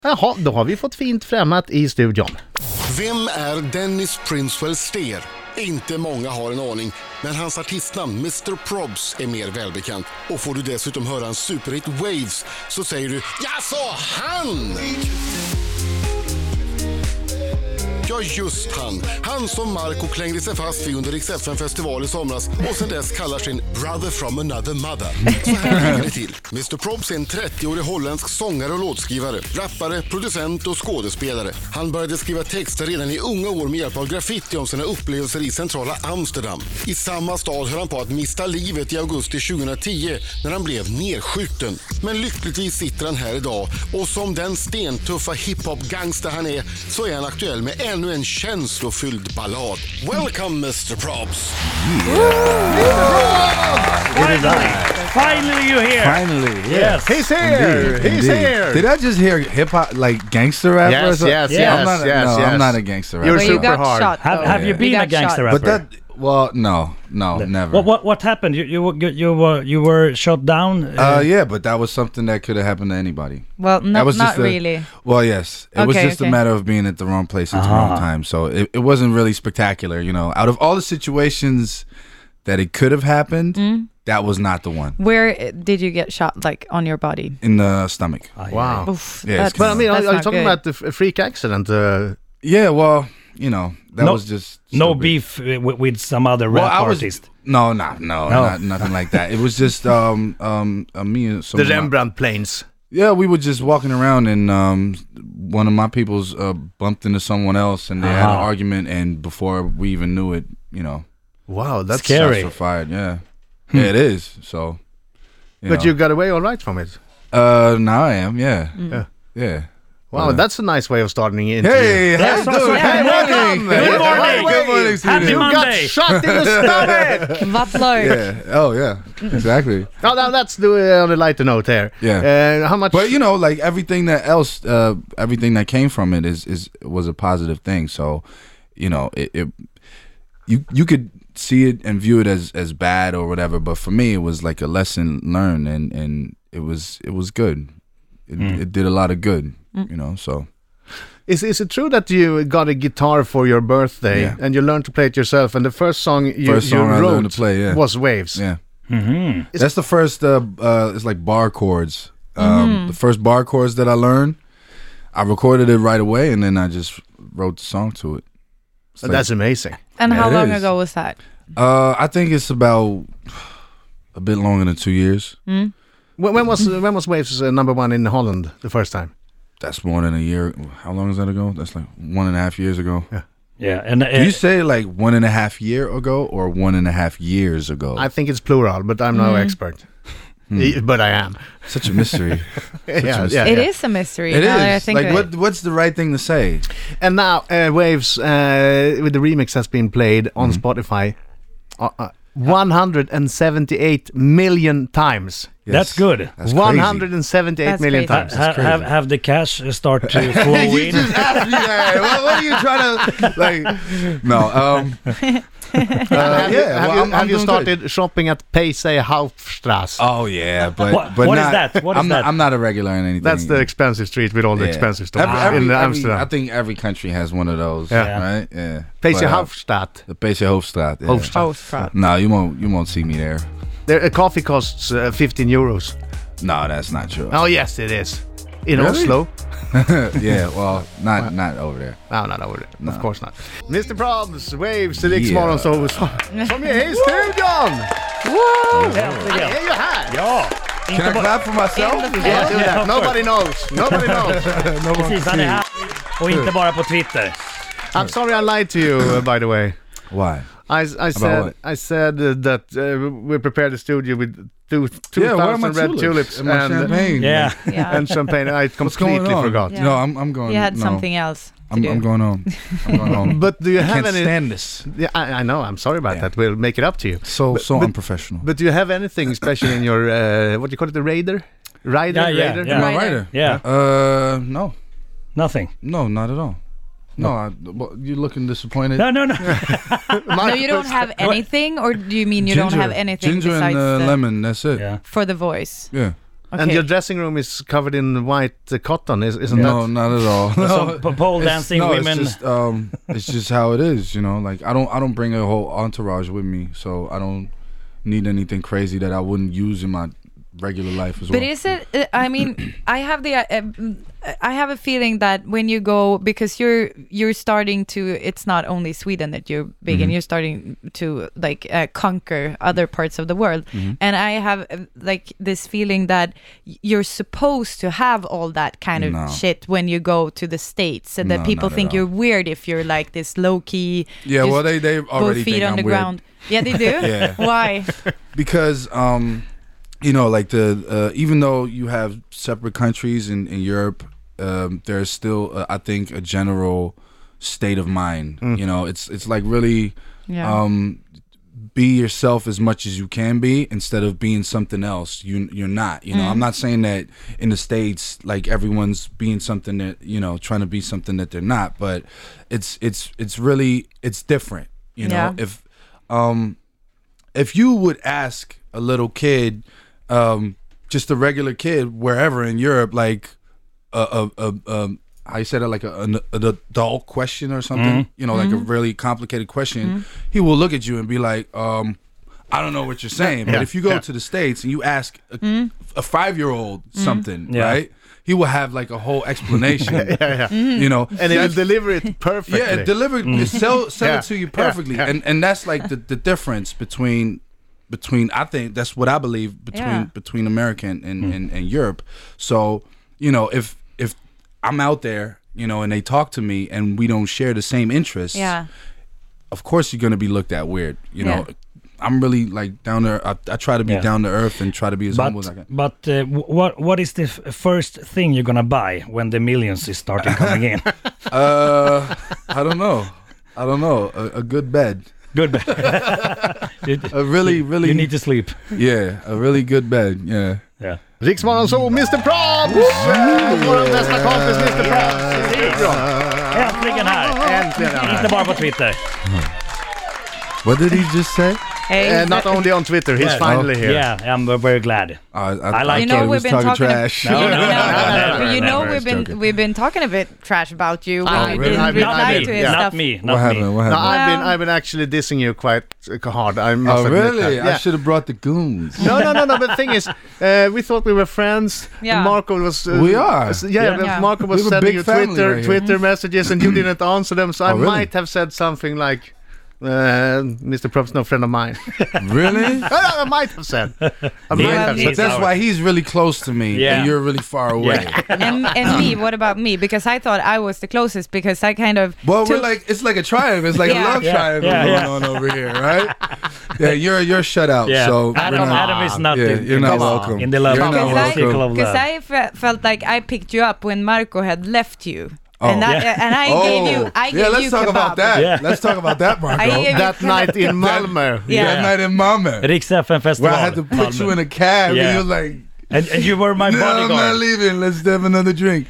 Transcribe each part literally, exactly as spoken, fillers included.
Jaha, då har vi fått fint främmat i studion. Vem är Dennis Princewell Steer? Inte många har en aning, men hans artistnamn mister Probs är mer välbekant. Och får du dessutom höra en superhit Waves så säger du, jaså, han! Ja, just han. Han som Marco klängde sig fast vid under Rix F M-festival i somras och sen dess kallar sin Brother from another mother. Så här ligger det till. mister Probs är en trettioårig holländsk sångare och låtskrivare, rappare, producent och skådespelare. Han började skriva texter redan i unga år med hjälp av graffiti om sina upplevelser i centrala Amsterdam. I samma stad höll han på att mista livet i augusti tjugohundratio när han blev nedskjuten. Men lyckligtvis sitter han här idag och som den stentuffa hiphop-gangster han är så är han aktuell med en ännu en känslofylld ballad. Welcome mister Probs. Finally, finally you're here. Finally, yes, he's here. Indeed, He's indeed. here. Did I just hear hip hop, like gangster rapper? or Yes, something? yes, Yeah. yes, I'm not a, yes, no, yes. I'm not a gangster rapper. You're Well, you super got hard. shot. Have, though. have you You been got a gangster shot. rapper? But that, well, no, no, never. What what what happened? You you were- you were you were shot down. Uh, yeah, but that was something that could have happened to anybody. Well, no, That was not just a- really. Well, yes, it was Okay, just okay. a matter of being at the wrong place at the Ah. wrong time. So it, it wasn't really spectacular, you know. Out of all the situations that it could have happened, that was not the one. Where uh, did you get shot? Like on your body? In the stomach. Wow. Oof, Yeah, it's that's, But I mean, are, that's are you not talking good. about the f- freak accident? Uh, Yeah, well, you know, that No- was just No stupid. beef uh, with, with some other Well, rap I was artist. no, no, no, No. Not, nothing like that. It was just um um uh, me and some the of my- Rembrandt Plains. Yeah, we were just walking around and um one of my people's uh, bumped into someone else and they had an Ah. argument and before we even knew it, you know, Wow, that's Scary. shots were fired. Yeah, yeah, it is. So, you But know. you got away all right from it. uh now I am. Yeah, Yeah. yeah. Wow, Uh, that's a nice way of starting the interview. Hey, how you so- doing? so- Good hey, morning. welcome. Good morning. Good morning, Happy Sweden. You Monday. got shot in the stomach. Vattlar. Yeah. Oh yeah. Exactly. No, no, let's do it on a lighter note here. Yeah. Uh, how much? But you know, like everything that else, uh, everything that came from it is is was a positive thing. So, you know, it, it you you could see it and view it as as bad or whatever. But for me, it was like a lesson learned, and and it was it was good. It, it did a lot of good. You know, so. Is is it true that you got a guitar for your birthday Yeah. and you learned to play it yourself? And the first song you, First you song I wrote learned to play, yeah. was Waves. Yeah. Mm-hmm. That's the first. Uh, uh, it's like bar chords. Um, The first bar chords that I learned, I recorded it right away, and then I just wrote the song to it. It's like- That's amazing. And Yeah, how it long is. ago was that? uh, I think it's about a bit longer than two years. When, when was when was Waves uh, number one in Holland the first time? That's more than a year. How long is that ago? That's like one and a half years ago. Yeah, and uh, Do you say like one and a half year ago or one and a half years ago? I think it's plural, but I'm no expert. E- But I am. Such a mystery. yeah, a- yeah, It yeah. is a mystery. It now that I is. think Like of what? it. What's the right thing to say? And now uh, Waves uh, with the remix has been played on Spotify uh, uh, one hundred seventy-eight million times. that's good. That's one crazy. hundred seventy-eight That's million crazy. times. Ha- have, have have the cash start to flow You in. just asked me that. what, what are you trying to like? No. Um. uh, have you, yeah. have well, you, I'm, have I'm you doing started good. shopping at Pace Hauptstrasse? Oh yeah, but What- but what is not, that? What is I'm that? Not, I'm not a regular in anything. That's the expensive street with all the Yeah. expensive stuff Every, every, in every- Amsterdam. I think every country has one of those. Yeah. Right. Yeah. Pace But, uh, Hauptstadt. The Pace Hoofdstraat. Yeah. Hoofdstraat. Oh, crap. No, you won't. You won't see me there. There, a coffee costs uh, fifteen euros. No, that's not true. Oh yes, it is. In Really? Oslo. yeah, well, not not over there. No, not over there. No. Of course not. mister Probs, Waves, the Rix Yeah. Morgon så som är i studion! Äntligen. Det är ju här! Ja, Can inte I bara... clap for myself? In the Yeah, do Yeah, that. of Nobody knows. Nobody knows. Precis, han är här. Och inte bara på Twitter. I'm sorry I lied to you, uh, by the way. Why? I, I said what? I said uh, that uh, we prepared the studio with two two Yeah, where are my thousand red tulips? tulips And my and, champagne? Yeah. Yeah. and champagne. I What's going completely on? forgot. Yeah. No, I'm I'm going. He had no. something else to I'm, do. I'm going home. I'm going home. But do you I have can't any? stand this. Yeah, I, I know. I'm sorry about Yeah. that. We'll make it up to you. So But- so but- unprofessional. But do you have anything special in your uh, what do you call it, the Raider? Rider, Yeah, yeah, Raider? yeah. Am I Rider. right? Yeah, Uh, no, nothing. no, not at all. No, I, well, you're looking disappointed. No, no, no. No, you don't have anything, or do you mean you don't have anything ginger besides and uh, the, lemon. That's it. Yeah. Yeah. for the voice? Okay. And your dressing room is covered in white uh, cotton, is, isn't No, that? not at all. No. Some p- pole It's- dancing no, women. It's just, um, it's just how it is, you know. Like I don't, I don't bring a whole entourage with me, so I don't need anything crazy that I wouldn't use in my regular life as well. But is it? uh, I mean, I have the. Uh, um, I have a feeling that when you go, because you're you're starting to. It's not only Sweden that you're big, Mm-hmm. and you're starting to like uh, conquer other parts of the world. Mm-hmm. And I have uh, like this feeling that y- you're supposed to have all that kind of No. shit when you go to the States, and that No, people not at think all. you're weird if you're like this low key. Yeah, well, they they both already feet think on I'm the weird. ground. Yeah, they do. Yeah. Why? Because um you know, like the uh, even though you have separate countries in, in Europe, um, there's still uh, I think a general state of mind. You know, it's it's like really Yeah. um be yourself as much as you can be instead of being something else. You you're not. You know, I'm not saying that in the States like everyone's being something that, you know, trying to be something that they're not, but it's it's it's really it's different. You know, Yeah. if um if you would ask a little kid, um, just a regular kid wherever in Europe, like a a, a, a how you said it, like a, an, an adult question or something, you know, like a really complicated question, he will look at you and be like, um, I don't know what you're saying. But Yeah, if you go yeah. to the States and you ask a, a five-year-old something, Yeah. right, he will have like a whole explanation, you know. And he will That's- deliver it perfectly. yeah, it delivered, it sell, sell Yeah, it to you yeah, perfectly, yeah. and and that's like the, the difference between between I think that's what I believe between Yeah. between America and, and, and, and Europe. So you know, if if I'm out there, you know, and they talk to me and we don't share the same interests, Yeah. of course you're gonna be looked at weird. You know, Yeah. I'm really like down there. I, I try to be Yeah. down to earth and try to be as humble But as I can. but uh, w- what what is the f- first thing you're gonna buy when the millions is starting coming in? Uh, I don't know. I don't know. A, a good bed. Good. you, A really, really. you need to sleep. Yeah, a really good bed. Yeah. Yeah. Riksmorgon så, mister Probs! Vår bästa kompis mister Probs! Äntligen här! Äntligen! ja. Inte bara på Twitter. What did he just say? Hey, Uh, not only on Twitter, he's finally here. Yeah, I'm very glad. I, I, I like I it. You know, thought he was we've been talking talking- trash. No, no, no, no, no, but no, you no, know no, we've been joking. we've been talking a bit trash about you when Ah, you really? didn't I've been- Not reply me, to his not stuff. me, What not me. happened? What No, happened? I've been Well- I've been actually dissing you quite uh, hard. I must Oh, admit really? that. I Yeah. should have brought the goons. No, no, no, no. But the thing is, uh, we thought we were friends. Yeah. And Marco was. Uh, We are. s- Yeah, Yeah. but Yeah. Marco was We have a sending big you family Twitter right here. Twitter messages, and you didn't answer them. So I Oh, really? might have said something like, uh, "mister Prob's no friend of mine." Really? I might have said. I might Yeah, have but But said. that's why he's really close to me, Yeah. and you're really far away. Yeah. And and me, what about me? Because I thought I was the closest because I kind of Well, took- we're like it's like a triangle. It's like Yeah. a love Yeah, triangle yeah, going yeah. on over here, right? Yeah, you're you're shut out. Yeah. So Adam, we're not- Adam is not Yeah, in, you're in not this- welcome. in the love You're not Because I, circle of because love. I fe- felt like I picked you up when Marco had left you, Oh. and, that, Yeah. and I Oh, gave you, I gave yeah. Let's you talk kebab. about that. Yeah. Let's talk about that, Marco. I gave That night in Malmö. Yeah. That night in Malmö, Riks F M festival. where I had to put you in a cab, Yeah. and you're like, and, and you were my "No, I'm not bodyguard. leaving. Let's have another drink."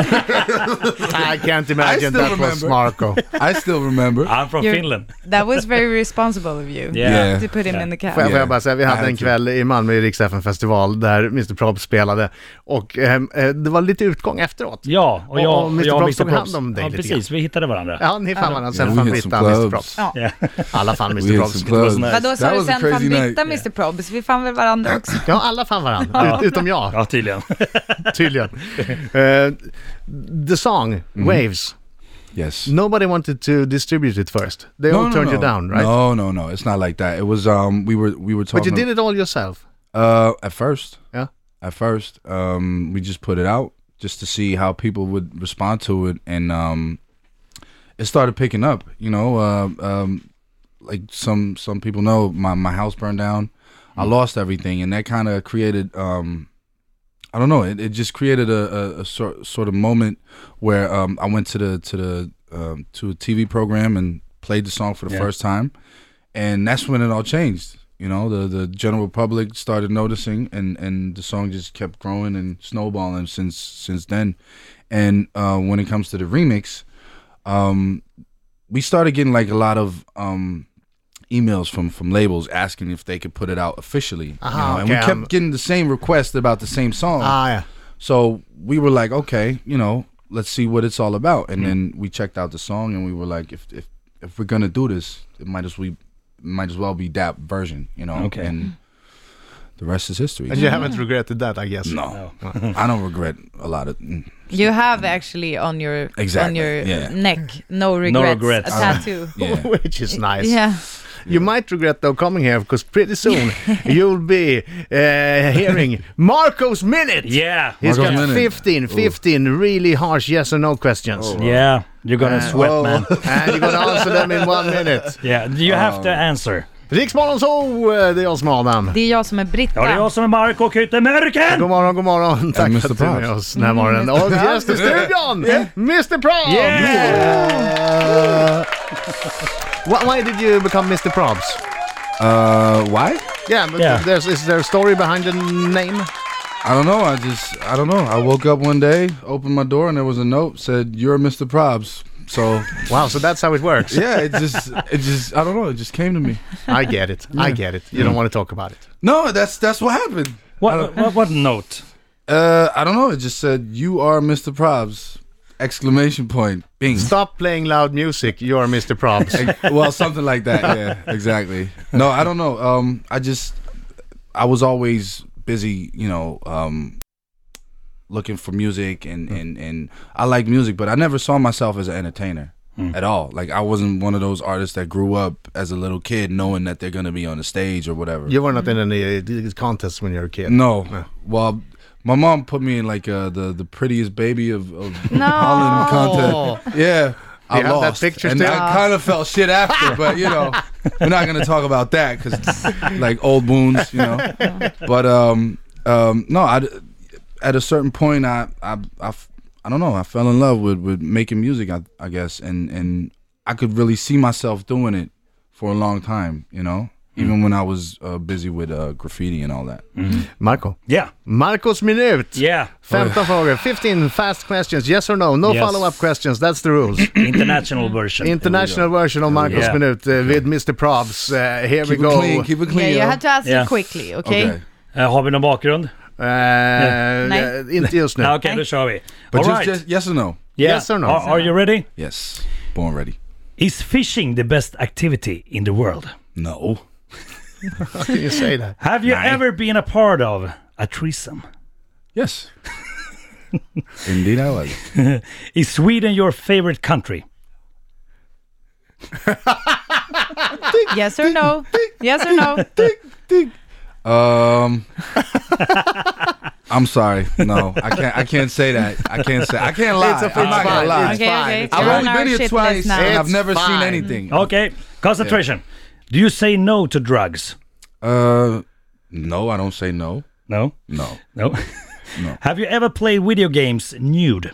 I can't imagine still that was remember. Marco. I still remember. I'm from You're- Finland. That was very responsible of you Yeah. Yeah. to put him Yeah. in the cab. Får jag, får Yeah. jag bara säga, vi I hade had en to. kväll i Malmö i Riks F M festival där mister Prob spelade och ehm, eh, det var lite utgång efteråt. Ja, och Och- jag och och mister jag och Probs mister tog hand Probs. om dig Ja, lite precis. Vi hittade varandra. Ja, ni fann varandra. Sen Yeah, fann we hit Britta some mister clubs. Probs. Ja. Yeah. Alla fann We mister hit Probs. some clubs. nice. Vadå, sa That du was a sen fann crazy Britta night. mister Probs? Vi fann väl varandra också? Ja, alla fann varandra. Ut, utom jag, Ja, tydligen. tydligen. Eh, the song, Waves. Yes. Nobody wanted to distribute it first. They all turned you down, right? No, no, no. It's not like that. It was um we were we were talking. But you did it all yourself. Uh, at first. Yeah. At first, um, we just put it out just to see how people would respond to it, and um, it started picking up. You know, uh, um, like some some people know, my my house burned down. I lost everything, and that kind of created um. I don't know. It, it just created a, a, a sort sort of moment where um, I went to the to the um, to a T V program and played the song for the Yeah. first time, and that's when it all changed. You know, the the general public started noticing, and, and the song just kept growing and snowballing since since then. And uh, when it comes to the remix, um, we started getting like a lot of um, emails from from labels asking if they could put it out officially. You Aha, know? And okay, we kept um, getting the same request about the same song. Ah, yeah. So we were like, okay, you know, let's see what it's all about. And then we checked out the song, and we were like, if if if we're gonna do this, it might as we might as well be that version, you know. Okay. And the rest is history. And you haven't regretted that, I guess. No, I don't regret a lot of. Mm. You have actually on your Exactly, on your yeah. neck, no regrets, regrets. a tattoo. Yeah. Which is nice. Yeah. You might regret though coming here because pretty soon you'll be uh, hearing Marco's Minute. Yeah. He's Marco's got Minute. fifteen, fifteen really harsh yes or no questions. Yeah. You're gonna Uh, sweat, oh. man. And you're gonna answer them in one minute. Yeah. You have to answer. Riksmorgon så, eh, det är jag som är Adam. Det är jag som är Britta. Ja, det är jag som är Marco Kyttemörken! God morgon, god morgon. Tack mister för att du är med Props. oss den här morgonen. Och gäst i studion, mister Probs! Yeah! Why, why did you become mister Probs? Uh, why? Yeah, but Yeah. there's is there a story behind the name? I don't know. I just I don't know. I woke up one day, opened my door, and there was a note said, "You're mister Probs." So Wow, so that's how it works. yeah, it just it just I don't know. It just came to me. I get it. I get it. You don't want to talk about it. No, that's that's what happened. What, what, what note? Uh, I don't know. It just said, "You are mister Probs!" Exclamation point. Bing. Stop playing loud music. You're mister Probs. Well, something like that. Yeah, exactly. No, I don't know. Um, I just I was always busy, you know, um, looking for music and, and, and I like music, but I never saw myself as an entertainer at all. Like I wasn't one of those artists that grew up as a little kid knowing that they're gonna be on the stage or whatever. You were not in any uh, contests when you were a kid. No. Well, my mom put me in like uh, the the prettiest baby of, of No. Holland contest. Yeah. I you have that lost, picture and still? I kind of felt shit after, but you know, we're not gonna talk about that because like old wounds, you know. But um, um, no, I, at a certain point, I, I, I, I don't know. I fell in love with, with making music, I, I guess, and and I could really see myself doing it for a long time, you know. Even when I was uh, busy with uh, graffiti and all that. Marco. Yeah. Marcos minut. Yeah. femton frågor. fifteen fast questions. Yes or no. No Yes. follow-up questions. That's the rules. International version. International version of Marcos Yeah. minut uh, with mister Probs. Uh, here Keep we it go. clean. Keep it clean. Yeah, you yo. have to answer Yeah. quickly, okay? Okay. Eh, har vi någon bakgrund? Uh, Nej. uh, inte just nu. Ja, Okej, då kör vi. But All just, right. just yes or no. Yeah. Yes or no? Are, are you ready? Yes. Born ready. Is fishing the best activity in the world? No. How can you say that? Have you ever been a part of a threesome? Yes. Indeed, I was. Is Sweden your favorite country? Yes or no? Yes or no? Um, I'm sorry. No, I can't. I can't say that. I can't say. I can't lie. It's a- I'm not it's gonna fine. lie. It's Okay, fine. okay. It's I've You're only on our been here shit twice, list now. and I've It's never seen fine. anything. Okay, concentration. Do you say no to drugs? Uh, no, I don't say no. No? No. No? No. Have you ever played video games nude?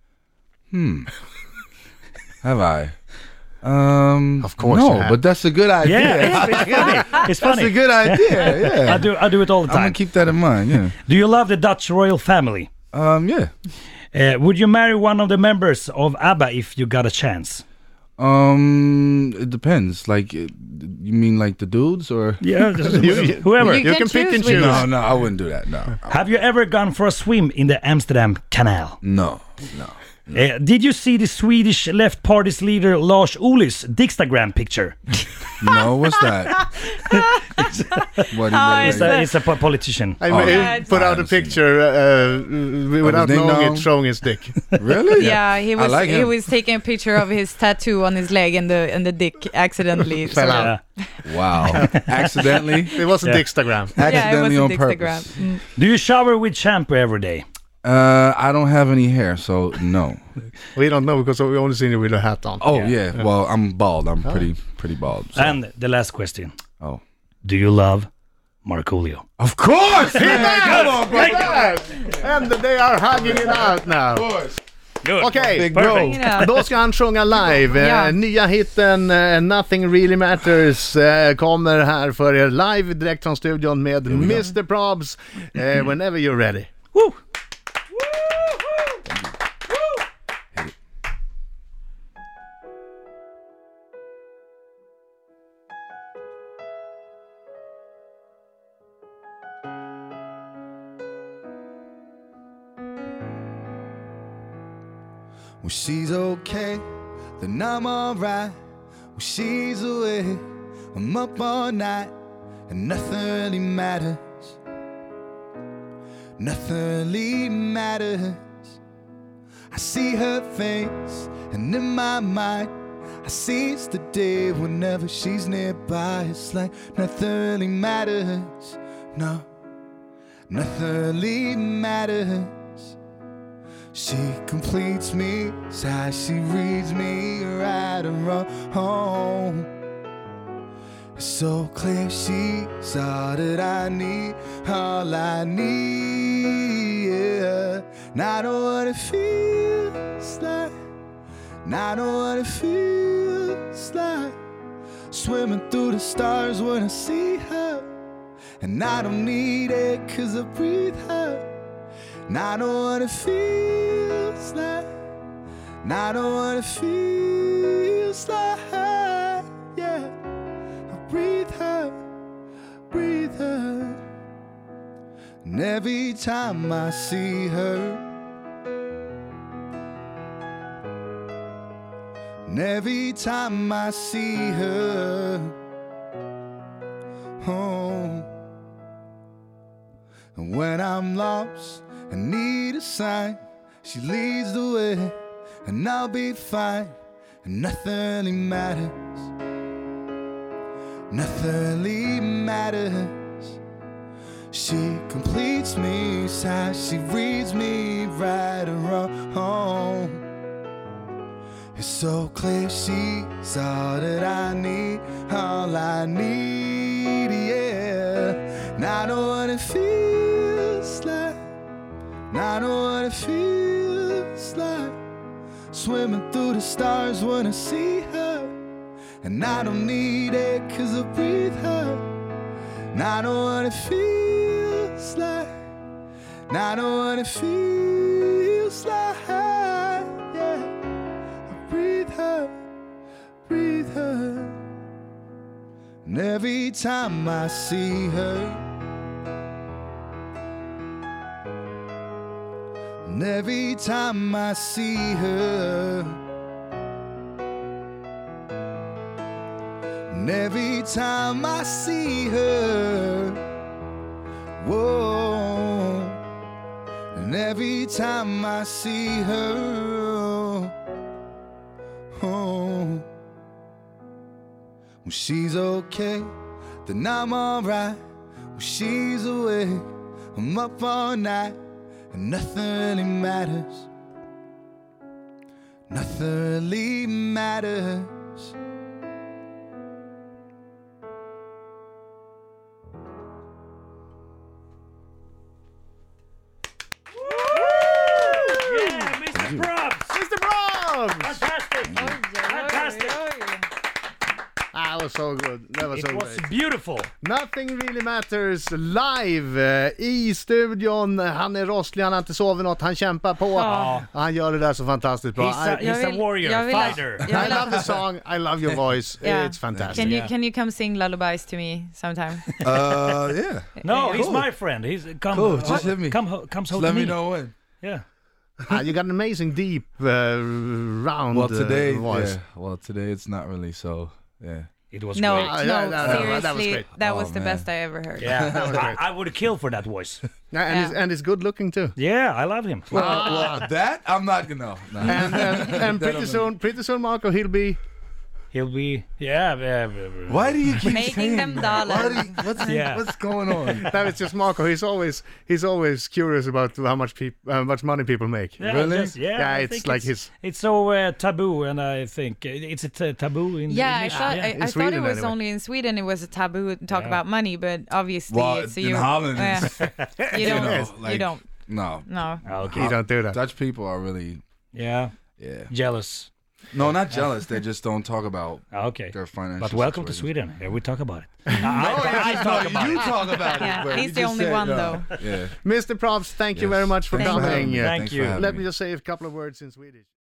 Have I? Um, Of course no, you have. but that's a good idea. Yeah, it's, it's funny. It's That's funny. a good idea. Yeah. I do I do it all the I'm gonna time. keep that in mind. Yeah. Do you love the Dutch royal family? Um. Yeah. Uh, would you marry one of the members of ABBA if you got a chance? Um. It depends. Like, it- you mean like the dudes or? Yeah, You- whoever. You You can can pick choose and which choose. No, no, I wouldn't do that. No. Have you ever gone for a swim in the Amsterdam Canal? No. No. Uh, did you see the Swedish Left Party's leader Lars Ohlys Dickstagram picture? No. What's that? What? Oh, is It's that? a, it's a po- politician. I Oh, mean, yeah, he it's put fine. out a picture uh, without ding knowing dong. it, showing his dick. Really? Yeah, he was like he him. was taking a picture of his tattoo on his leg and the and the dick accidentally. Fell sort of- out. Yeah. Wow. Accidentally. It was a Yeah. Dickstagram. Yeah, it was Accidentally a on Dickstagram. purpose. Mm. Do you shower with shampoo every day? Uh, I don't have any hair, so no. We don't know because we only seen you with a hat on. Oh Yeah. yeah. Well, I'm bald. I'm pretty pretty bald. So. And the last question. oh. Do you love Markoolio? Of course. Man, come on, bro. And they are hugging it out now. Good. Okej, Big bro. Perfect. Ja. då ska han sjunga live. Eh, Ja. Nya hitten eh, Nothing Really Matters eh, kommer här för er live direkt från studion med mister Probs. Eh, whenever you're ready. Woo! When she's okay, then I'm alright. When she's away, I'm up all night, and nothing really matters. Nothing really matters. I see her face, and in my mind I seize the day whenever she's nearby. It's like nothing really matters. No, nothing really matters. She completes me, as she reads me right and wrong. It's so clear she's all that I need, all I need, yeah. And I know what it feels like, and I know what it feels like, swimming through the stars when I see her. And I don't need it cause I breathe her. And I know what it feels like, and I know what it feels like, yeah. I breathe her, breathe her. And every time I see her, and every time I see her, oh. And when I'm lost and need a sign, she leads the way, and I'll be fine. And nothing really matters. Nothing really matters. She completes me, as she reads me right and wrong. It's so clear she's all that I need, all I need, yeah. And I know what it feels like, and I know what it feels like, swimming through the stars when I see her. And I don't need it cause I breathe her. And I know what it feels like, and I know what it feels like, yeah. I breathe her, breathe her. And every time I see her, and every time I see her, and every time I see her, whoa. And every time I see her, oh. When she's okay, then I'm alright. When she's away, I'm up all night, and nothing really matters. Nothing really matters. Yeah, Mister Probs! Mister Probs! Fantastic! Fantastic! Ah, that was so good. That was It so was great. beautiful. Nothing really matters live eh, i studion. Han är rosslig, han har inte sovit något, han kämpar på. Ja. Han gör det där så fantastiskt bra. He's a, I, Jag he's a vill- warrior, jag vill- fighter. jag I vill- love the song, I love your voice. Yeah. It's fantastic. Can you Yeah. can you come sing lullabies to me sometime? Uh, yeah. No, he's Cool. my friend. He's come. Cool, just hit me. Come, ho- comes Just home let to me me. know when. Yeah. Ah, you got an amazing deep uh, round Well, today, uh, voice. yeah. Well, today it's not really so. Yeah. It was No, great. Ah, no, yeah, that- that- seriously, that was great. that Oh, was the man. best I ever heard. Yeah, That was great. I, I would kill for that voice. Yeah, and, Yeah. He's, and he's good looking too. Yeah, I love him. Well, well, that I'm not gonna. No, no. And, uh, and pretty soon, pretty soon, Marco, he'll be. He'll be, yeah. Uh, uh, Why do you keep Making saying them that? Why dollars. do you- what's, Yeah. what's going on? That is just Marco. He's always he's always curious about how much peop- how much money people make. Yeah, Really? just- yeah, Yeah, I it's think like it's, his- It's so uh, taboo, and I think it's a t- taboo in Yeah, I English. thought yeah. I, I In thought it Sweden was anyway. only in Sweden it was a taboo to talk Yeah. about money, but obviously Well, it's in you. Holland, yeah. it's- you you don't. know, you like- don't. No. No. Ah, okay. You don't do that. Dutch people are really, Yeah, yeah. jealous. No, not jealous. They just don't talk about Ah, okay. their financial. But welcome to situations. Sweden. Here we talk about it. I, I, I talk about You it. talk about it. Yeah, but he's you the just only said one, no. though. Yeah. Mister Probs, thank you Yes. very much for Thanks for coming. having me. Thank Thanks you. for having Let me. me just say a couple of words in Swedish.